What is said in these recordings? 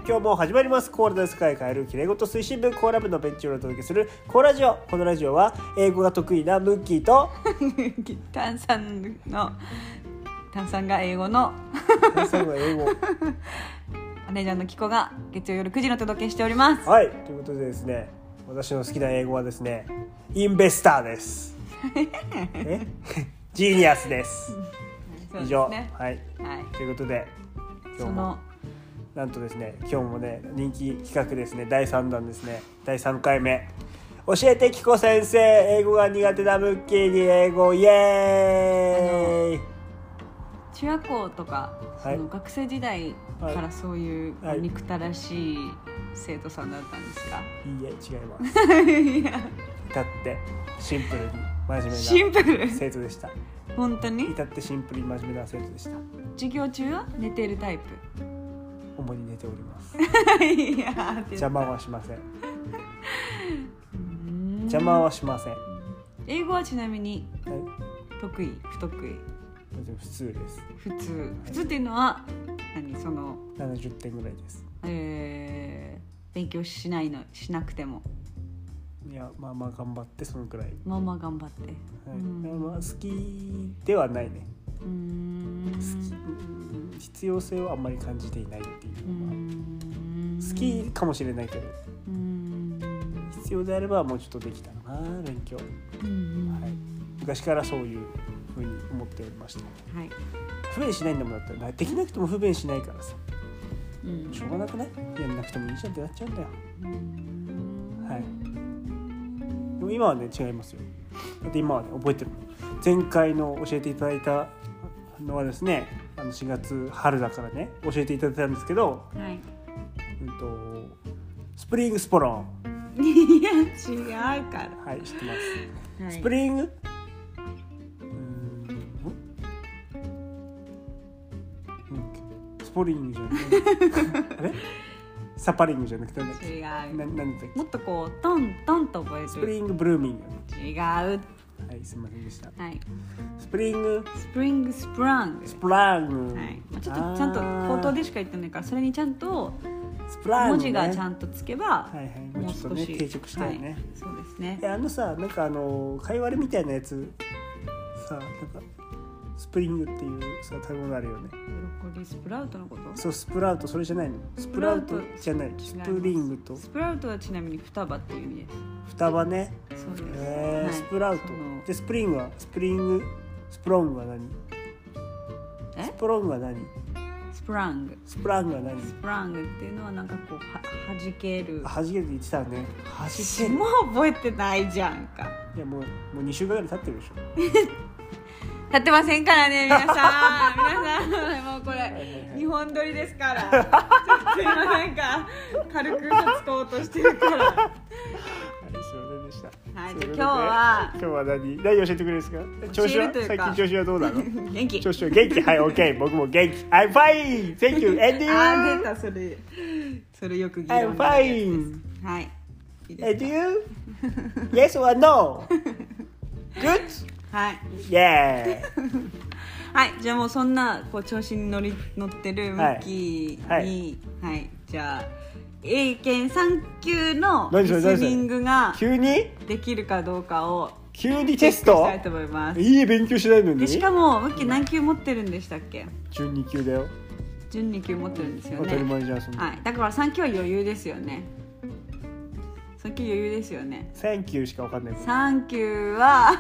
今日も始まります。コーラで世界変えるきれいごと推進部コーラ部のベンチをお届けするコーラジオ。このラジオは英語が得意なムッキーと炭酸が英語の炭酸が英語マネージャーのキコが月曜夜9時の届けしております。 はい、ということでですね、私の好きな英語はですね、インベスターですジーニアスです。以上、はい、はい、ということで今日もなんとですね、今日もね人気企画ですね、第3弾ですね、第3回目、教えてキコ先生、英語が苦手なムッキーに英語イエーイ。 中学校とか、 はい、 その学生時代からそういう憎たらしい生徒さんだったんですか？ いいえ、違います至ってシンプルに真面目な生徒でした。 本当に至ってシンプルに真面目な生徒でした。授業中は寝てるタイプ？ 主に寝ておりますいや邪魔はしません邪魔はしません。 英語はちなみに、 はい、 得意不得意？ 普通です。 普通っていうのはその 70点ぐらいです。 勉強しなくても、 いや、まあまあ頑張ってそのくらい。 まあまあ頑張って、 はい、まあ、好きではないね。必要性をあんまり感じていないっていうのは、好きかもしれないけど、必要であればもうちょっとできたかな、勉強。はい、昔からそういうふうに思っておりました。はい、不便しないんだもん。だったらできなくても不便しないからさ、しょうがなくない？やんなくてもいいじゃんってなっちゃうんだよ。はい。でも今はね違いますよ。だって今はね覚えてる。前回の教えていただいたのはですね、4月春だからね教えていただいたんですけど、はい、スプリングスポロン。 いや違うから。 はい、知ってます。はい、スポリングじゃなくてあれサパリングじゃなくて違う。 なんだっけ？ もっとこうトントンと覚える。 スプリングブルーミング。 違う。 はい、すみませんでした。はい。スプラング。はい。 ちょっとちゃんと口頭でしか言ってないから、それにちゃんと文字がちゃんとつけば、 はいはい、もう少し定着したいね。はい、 そうですね。 さ、なんか会話みたいなやつさ、なんかスプリングっていうさ食べ物あるよね。 ブロッコリースプラウトのこと？ そう、スプラウト、それじゃないの。スプラウトじゃない。スプリングと。 スプラウトはちなみに双葉っていう意味です。 双葉ね。 そうです。 はい、スプラウト。でスプリングはスプロングは何？スプロングは何？スプラングは何？ スプラングっていうのはなんかこう弾ける。 弾けるって言ってたね。弾ける。 もう覚えてないじゃんか。 いやもう2週間ぐらい経ってるでしょ。 経ってませんからね、皆さんもうこれ2本撮りですからちょっと今なんか軽く使おうとしてるからはい、 すいませんでした。 はい、じゃあ今日は何教えてくれるんですか？調子は最近調子はどうなの？ 元気。 調子は元気。はい、OK。僕も元気。I'm fine. Thank you. And you? 出た、それよく議論になるやつです。I'm fine. はい。いいですか？ And you? Yes or no? Good? はい。 Yeah. はい、じゃあもうそんなこう調子に乗ってるムッキーに、はい、じゃあ英検3級のリスニングができるかどうかを急にテストしたいと思います。 いい勉強しないのに。 でしかもムッキー何級持ってるんでしたっけ？ 準2級だよ。 準2級持ってるんですよね。 当たり前じゃんそんな。 はい、だから3級は余裕ですよね。3級余裕ですよね。 3級しか分かんない。 3級は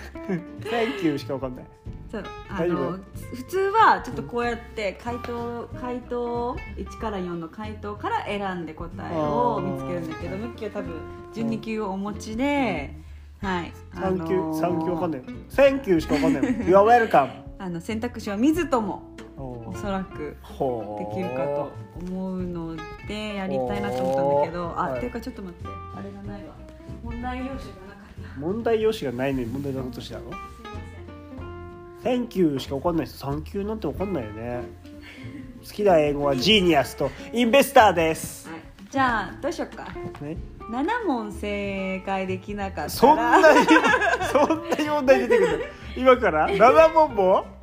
3級しか分かんない。 そう、普通はちょっとこうやって回答1から4の回答から選んで答えを見つけるんだけど、ムッキーは多分12級をお持ちで、はい、 3級分かんない。3級しか分かんない。You are welcome。 選択肢は見ずともおそらくできるかと思うのでやりたいなと思ったんだけど、っていうかちょっと待って、あれがないわ。問題用紙がなかった。 問題用紙がないのに問題出そうとしたの？3級しか分かんないです。3級なんて分かんないよね。好きな英語はジーニアスとインベスターです。 はい、じゃあどうしようか。ね、7問正解できなかったらそんなに問題出てくるの？今から7問も？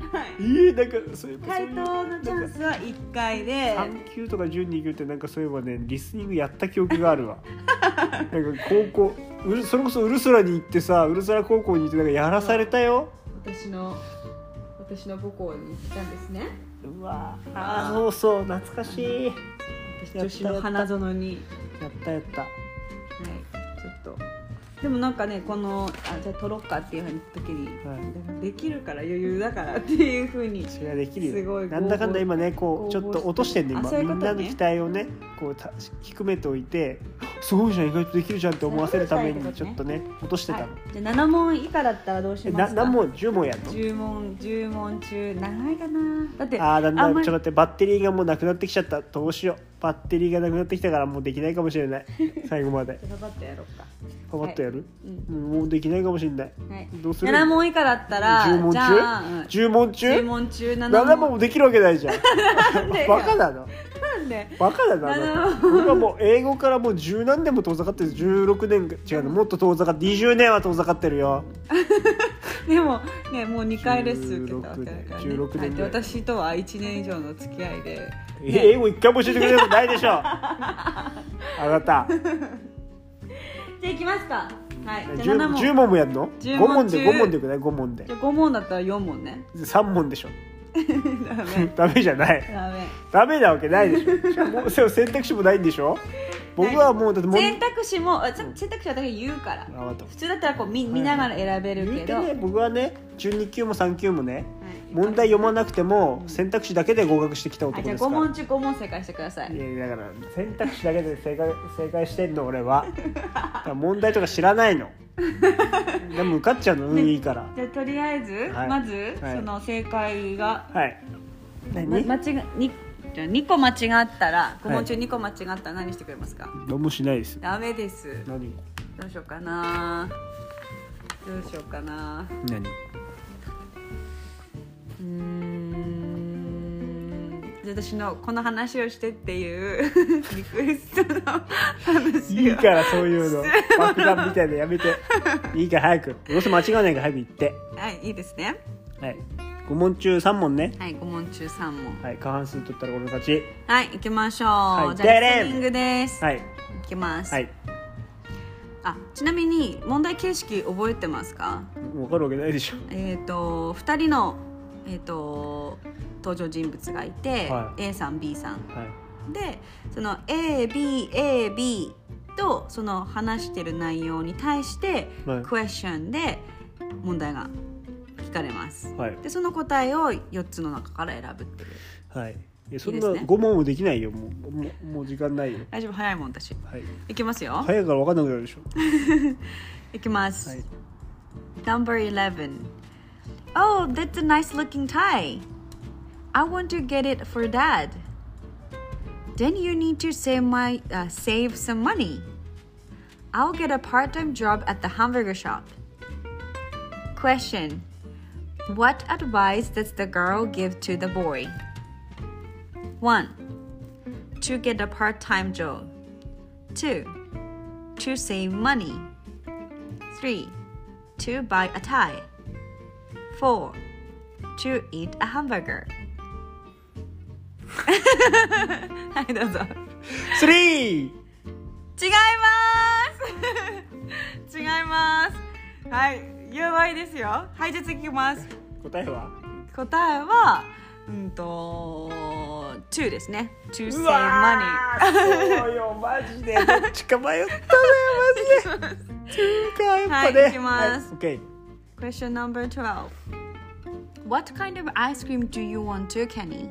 なんかそういう回答のチャンスは1回で 3級とか12級ってなんかそういえばねリスニングやった記憶があるわなんか高校それこそウルスラに行ってさウルスラ高校に行ってなんかやらされたよ。 私の母校に行ったんですね。 うわそうそう懐かしい。 私女子の花園にやったはいちょっとでもなんかねこのじゃあ撮ろっかっていうふうに言った時に、できるから余裕だからっていうふうにそれはできるよ。 すごいなんだかんだ今ねこうちょっと落としてんね今みんなの期待をねこう低めておいてすごいじゃん意外とできるじゃんって思わせるためにちょっとね落としてたの。 じゃあ7問以下だったらどうしますか。 何問10問やるの。 10問中長いかな。だってだんだんちょっと待ってバッテリーがもうなくなってきちゃった。どうしようバッテリーがなくなってきたからもうできないかもしれない最後までパパッとやろうか。 パパッとやる、もうできないかもしれない、どうする。 7問以下だったら 10問中10問中 10問中 7問もできるわけないじゃんバカなのバカだな。僕はもう英語からもう10何年も遠ざかってる。16年違うのもっと遠ざかって20年は遠ざかってるよでもねもう2回レッスン受けたわけだからね。 16年で私とは1年以上の付き合いで、 英語1回も教えてくれることないでしょあなたじゃあ行きますか。はい。 じゃあ10問もやるの？5問でよくない5問で。 じゃあ5問だったら4問ね。 3問でしょダメじゃない。ダメなわけないでしょ。もう選択肢もないんでしょ。僕はもうだって選択肢はだけ言うから。普通だったらこう見ながら選べるけど。 僕はね12級も3級もね。問題読まなくても選択肢だけで合格してきた男ですから。 じゃあ5問中5問正解してください。 いやだから選択肢だけで正解してんの俺は問題とか知らないのでも受かっちゃうのいいから。 じゃあとりあえず、まず、その正解が2個間違ったら5問中2個間違ったら何してくれますか。 何もしないです。 ダメです。 何どうしようかな。 何私のこの話をしてっていうリクエストの話いいからそういうの爆弾みたいなのやめていいから早くどうせ間違わないから早く言って。 はいいいですね。 はい5問中3問ね。 はい5問中3問。 はい過半数取ったら俺の勝ち。 はい行きましょう、 はい、 じゃあリスニングです。 はい行きます。 はいちなみに問題形式覚えてますか。 分かるわけないでしょ。 2人の登場人物がいて、A さん B さん、でその AB とその話してる内容に対して、クエスチョンで問題が聞かれます、でその答えを4つの中から選ぶっていう。 そんな5問もできないよ。もう時間ないよ。 大丈夫早いもん私。いきますよ。 早いから分かんなくなるでしょいきます、Number 11 Oh, that's a nice looking tie. I want to get it for Dad. Then you need to save some money. I'll get a part-time job at the hamburger shop. Question. What advice does the girl give to the boy? 1. To get a part-time job. 2. To save money. 3. To buy a tie. 4. To eat a hamburger. はいどうぞ。 3! 違います違います。はいやばいですよ。はいじゃあ次いきます。 答えは 2ですね。To save money。 そうよマジでどっちか迷ったのよマジで。2かやっぱね。 はいいきます。 OK。 Question number 12. What kind of ice cream do you want to, Kenny?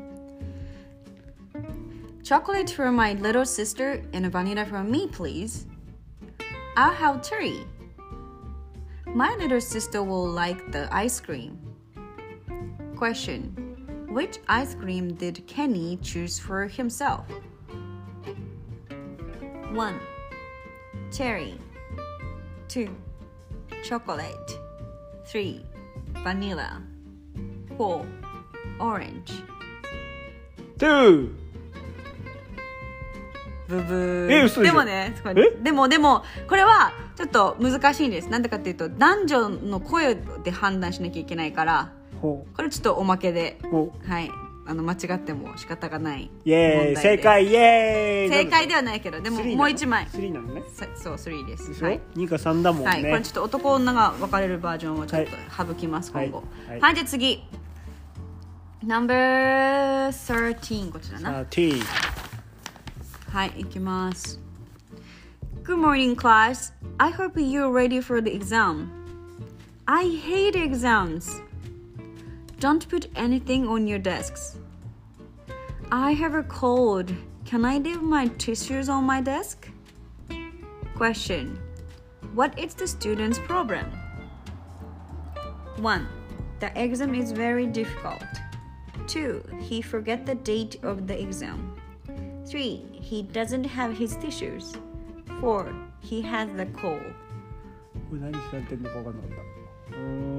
Chocolate for my little sister and vanilla for me, please. I'll have 3. My little sister will like the ice cream. Question. Which ice cream did Kenny choose for himself? 1. Cherry. 2. Chocolate. 3. Vanilla. 4. Orange. 2. ブブー。でもねでもこれはちょっと難しいんです。なんでかっていうと男女の声で判断しなきゃいけないからこれちょっとおまけで、 おはい、間違っても仕方がないイエーイ正解イエーイ正解ではないけどでももう1枚 3なのねそう3です、 はい、2か3だもんね、 はい、これちょっと男女が分かれるバージョンをちょっと省きます、今後はい、じゃあ次 No.13 こちらな 13 はい、いきます。Good morning, class. I hope you're ready for the exam. I hate exams. Don't put anything on your desks. I have a cold. Can I leave my tissues on my desk? Question. What is the student's problem? 1. The exam is very difficult. 2. He forget the date of the exam.3. He doesn't have his tissues. 4. He has the cold. これ何聞かれてんのか分かんなかった。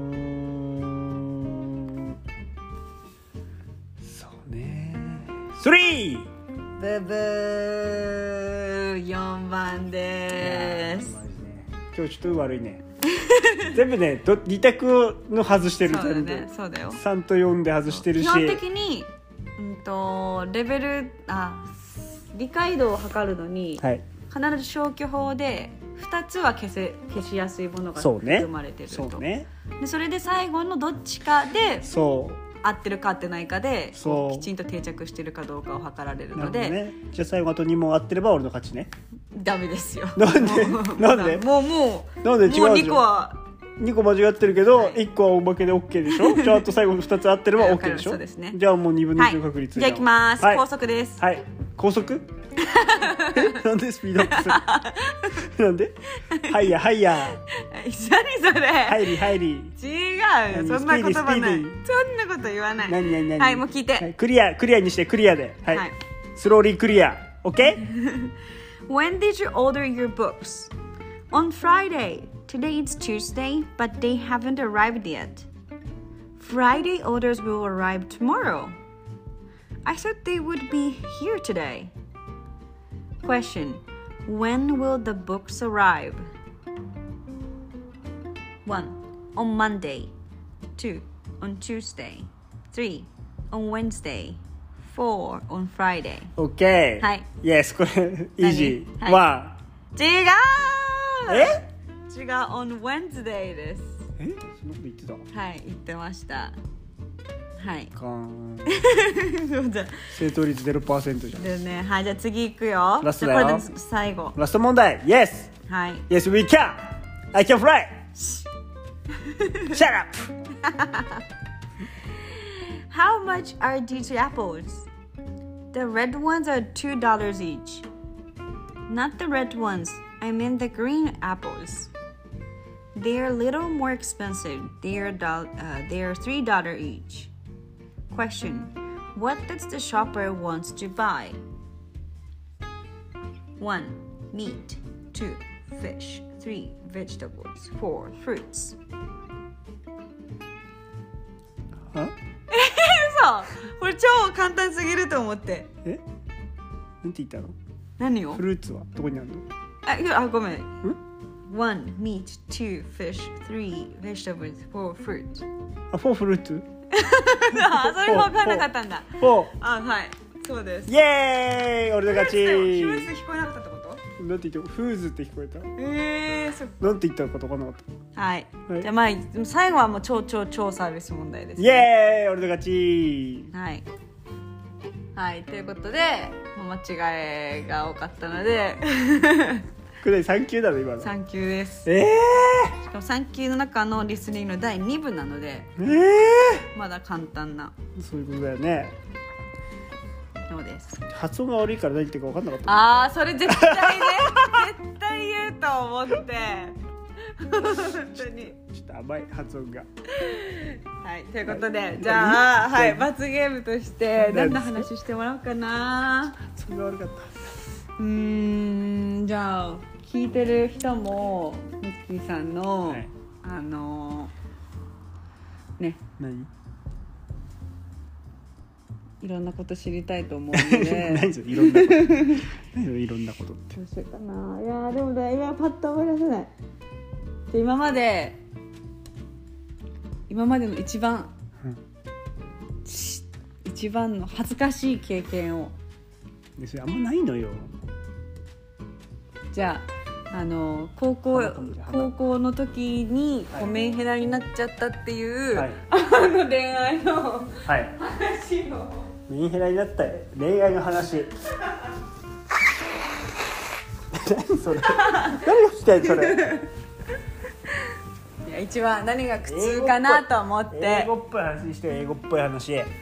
そうね。3! ブブー4番です。 今日ちょっと悪いね。全部ね、2択の外してる。 そうだね、そうだよ。 3と4で外してるし。 基本的に、レベル理解度を測るのに、はい、必ず消去法で2つは消しやすいものが含まれてると。そうね。でそれで最後のどっちかで合ってるか合ってないかできちんと定着してるかどうかを測られるので、 ね、じゃあ最後あと2問合ってれば俺の勝ちね。 ダメですよ。 なんでなんでもうなんで違うじゃん。 もう2個は 2個間違ってるけど、はい、1個はおまけで OK でしょ。じゃああと最後の2つ合ってれば OK でしょ。 そうですね。 じゃあもう2分の1の確率、 はい、じゃあいきます、はい、高速です。 はい、高速なんでスピードアップするなんではいやはいや何それ入り違うそんな言葉ない。そんなこと言わない。 何はいもう聞いて、 はい、クリアにしてクリアで、はい、はい、スローリークリア OK When did you order your books? On Friday. Today it's Tuesday, but they haven't arrived yet. Friday orders will arrive tomorrow. I thought they would be here today. Question. When will the books arrive? 1. On Monday. 2. On Tuesday. 3. On Wednesday. 4. On Friday. OK. はい。 Yes, これ、イージー。 はい、違う違う on Wednesday です。 そんなこと言ってた？ はい、言ってました。はい。 そうだ。正答率 0% じゃん。 でね、はい、じゃあ次行くよ。 ラストだよ。 これで最後。 ラスト問題。Yes。 はい。 Yes, we can. I can fly. Shut up. How much are these apples? The red ones are $2 each. Not the red ones. I mean the green apples. They are a little more expensive. They are $3 each. Question. What does the shopper want to buy? 1. Meat. 2. Fish. 3. Vegetables. 4. Fruits. は？ 嘘！これ超簡単すぎると思って。 なんて言ったの？ 何を？ フルーツはどこにあるの？ ごめん。1. Meat. 2. Fish. 3. Vegetables. 4. Fruit. 4フルーツ？ それも分からなかったんだ。 4。 はい。そうです。 イエーイ！俺の勝ち。 フルーツ聞こえなかったってこと？ なんて言ってフーズって聞こえた。 そっか。 なんて言ったか分からなかった。 はい。じゃあまあ最後はもう超サービス問題です、ね。 イエーイ！俺の勝ち。 はい。はい、ということで間違いが多かったのでこれ3級だね今の。 3級です。しかも3級の中のリスニングの第2部なので、まだ簡単な。 そういうことだよね。 そうです。 発音が悪いから何言ってるか分かんなかった。 あー、それ絶対ね絶対言うと思って本当にちょっと甘い発音が。 はい、ということで、じゃあ、はい、罰ゲームとして何の話してもらおうかな。 そんな悪かった。 じゃあ聞いてる人もミッキーさんの、はい、ね、 何？ いろんなこと知りたいと思うので何それいろんなこと何いろんなことってどうしようかな。いやでもね、今パッと思い出せない。今までの一番一番の恥ずかしい経験を。 でそれあんまないのよ。 じゃあ高校の時にこうメンヘラになっちゃったっていう、はい、恋愛の話を、 メンヘラになった恋愛の話何それ何が聞きたいそれいや一番何が苦痛かなと思って英語っぽい話して英語っぽい話だ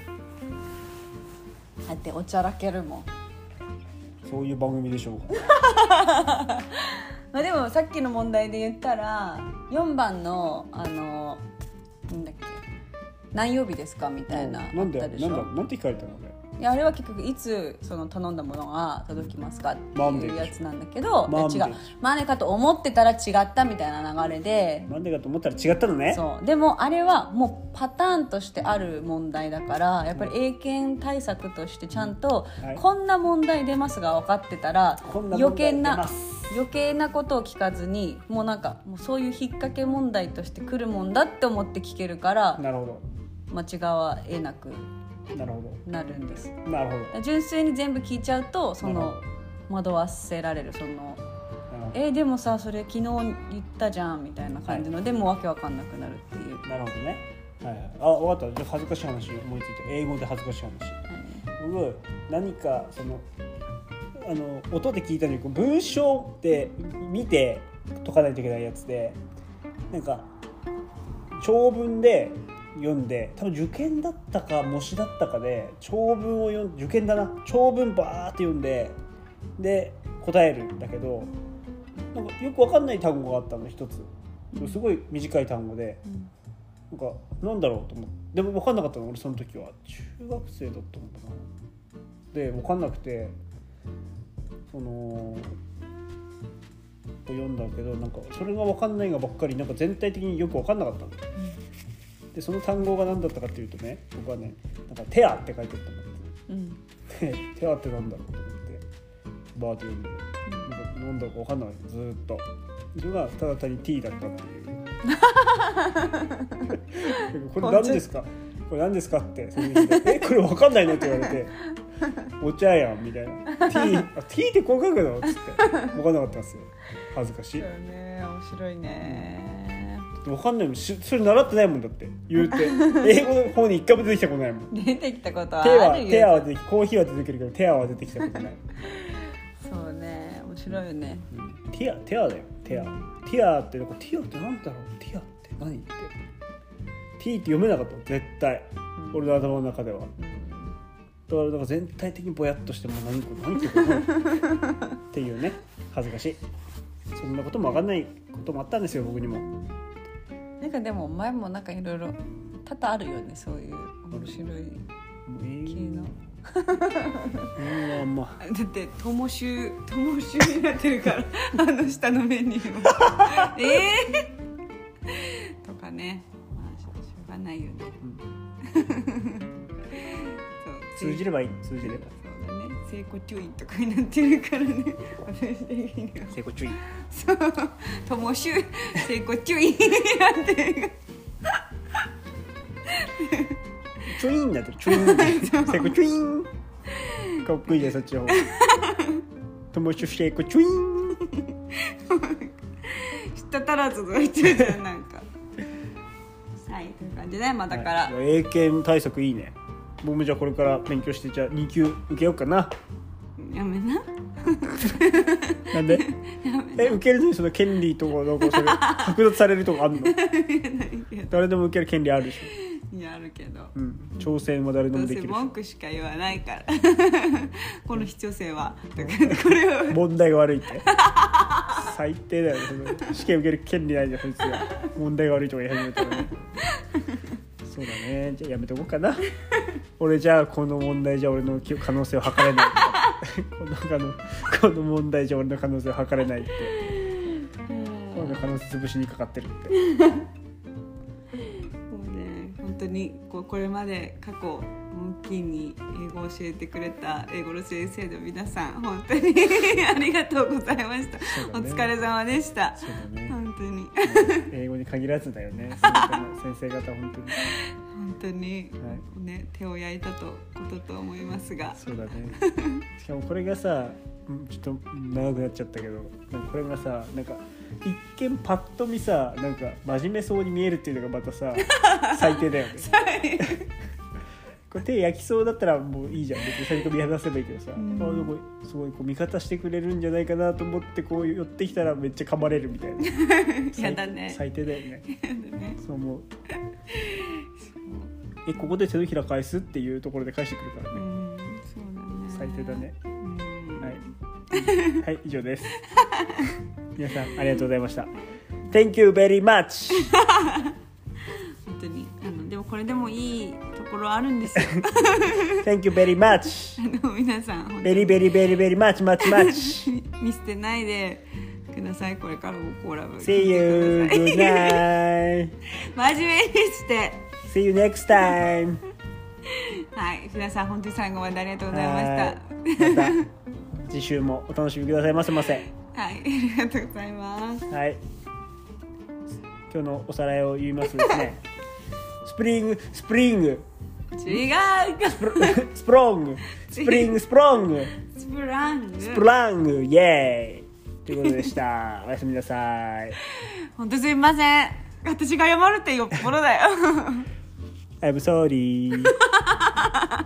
っておちゃらけるもん。 そういう番組でしょうかまあでもさっきの問題で言ったら4番のなんだっけ何曜日ですかみたいななんて聞かれたのね。 いやあれは結局いつその頼んだものが届きますかっていうやつなんだけど、違うマンデーかと思ってたら違ったみたいな流れで、 マンデーかと思ったら違ったのね。 そうでもあれはもうパターンとしてある問題だからやっぱり英検対策としてちゃんと、こんな問題出ますが分かってたら余計なことを聞かずにもうなんかもうそういう引っ掛け問題として来るもんだって思って聞けるから、 なるほど間違わえなくなるんです。 なるほど。 純粋に全部聞いちゃうとその惑わせられるそのでもさそれ昨日言ったじゃんみたいな感じの、でもわけわかんなくなるっていう。 なるほどね。はいはい、あ分かった。じゃあ恥ずかしい話思いついた。英語で恥ずかしい話。僕何かその音で聞いたのに文章って見て解かないといけないやつで、なんか長文で読んで、多分受験だったか模試だったかで長文を読んで、受験だな、長文バーって読んでで答えるんだけど、なんかよく分かんない単語があったの一つ。すごい短い単語で、なんかなんだろうと思って、でも分かんなかったの俺その時は中学生だったのかな。で分かんなくてその読んだけど、なんかそれが分かんないがばっかり、なんか全体的によく分かんなかったの。でその単語が何だったかっていうとね、僕はねなんかテアって書いてあったんだけど、テアってなんだろうと思ってバーって読んで、なんだか分かんないずーっと。それがただ単に T だったっていうこれ何ですかこれ何ですかってその日でこれ分かんないのって言われてお茶やんみたいな T ってこう書くのっつって分かんなかったんですよ。恥ずかしい。 そうね、面白いね。 分かんないもん、それ習ってないもんだって言うて英語の方に一回も出てきたことないもん。 出てきたことはあるよ。 テアは出てきコーヒーは出てくるけどテアは出てきたことないそうね、面白いよね、 テアだよ。テアってなんかティアってなんだろう。ティアって何って T って読めなかった絶対、俺の頭の中では。だからなんか全体的にぼやっとしても何ってっていうね、恥ずかしい。そんなことも分かんないこともあったんですよ僕にも。 なんかでも前もなんかいろいろ多々あるよね、そういう面白い系のだって友集になってるから下のメニューもとかね、まあしょうがないよね、 そう通じればいい。通じればそうだね、成功注意とかになってるからね私的には成功注意、 そう友集成功注意になってるチュイーンになってる。チュイーン成功チュイーンかっこいいじゃんそっちの方友集成功チュイーン知ったらずと言ってるじゃんなんかはいという感じで、まあだから、 英検対策いいね。僕もじゃあこれから勉強してじゃあ2級受けようかな。 やめななんで受けるのにその権利とかなんかそれ剥奪されるとかあるの誰でも受ける権利あるでしょ。 いやあるけど、 挑戦は誰でもできるし、 どうせ文句しか言わないからこの必要性はだからこれは問題が悪いって最低だよね。その試験受ける権利ないじゃんそいつが問題が悪いとか言い始めたらねそうだね、じゃあやめとこうかな俺じゃあこの問題じゃ俺の可能性を測れないこの問題じゃ俺の可能性を測れないって俺の可能性潰しにかかってるってもうね、本当にこれまで過去モンキーに英語を教えてくれた英語の先生の皆さん本当にありがとうございました、ね、お疲れ様でした。 そうだね、 本当に英語に限らずだよね先生方本当に本当に、ね、手を焼いたことと思いますが。 そうだね。しかもこれがさ、ちょっと長くなっちゃったけど、なんかこれがさ、なんか一見パッと見さ、なんか真面目そうに見えるっていうのがまたさ最低だよね。これ手焼きそうだったらもういいじゃん、別に最初見放せばいいけどさ、すごいこう味方してくれるんじゃないかなと思ってこう寄ってきたらめっちゃ噛まれるみたいな。 やだね。 最低だよね。 やだね。 そう思う。ここで手のひら返すっていうところで返してくるからね。 そうだね。 最低だね。はい、以上です。皆さんありがとうございました。Thank you very much. 本当にでもこれでもいいところあるんですよ。 Thank you very much. 皆さん very very very very much much much. 見捨てないでください。これからもコーラブ See you. Good night. 真面目にして。 See you next time. はい、皆さん本当に最後までありがとうございました。 また次週もお楽しみくださいませませ。 はい、ありがとうございます。 はい。今日のおさらいを言いますですね。スプリング。 違う。 スプロング。スプロング。 スプラング。 イエーイということでした。おやすみなさい。 本当すみません。私が謝るってよっぽどだよ。 I'm sorry.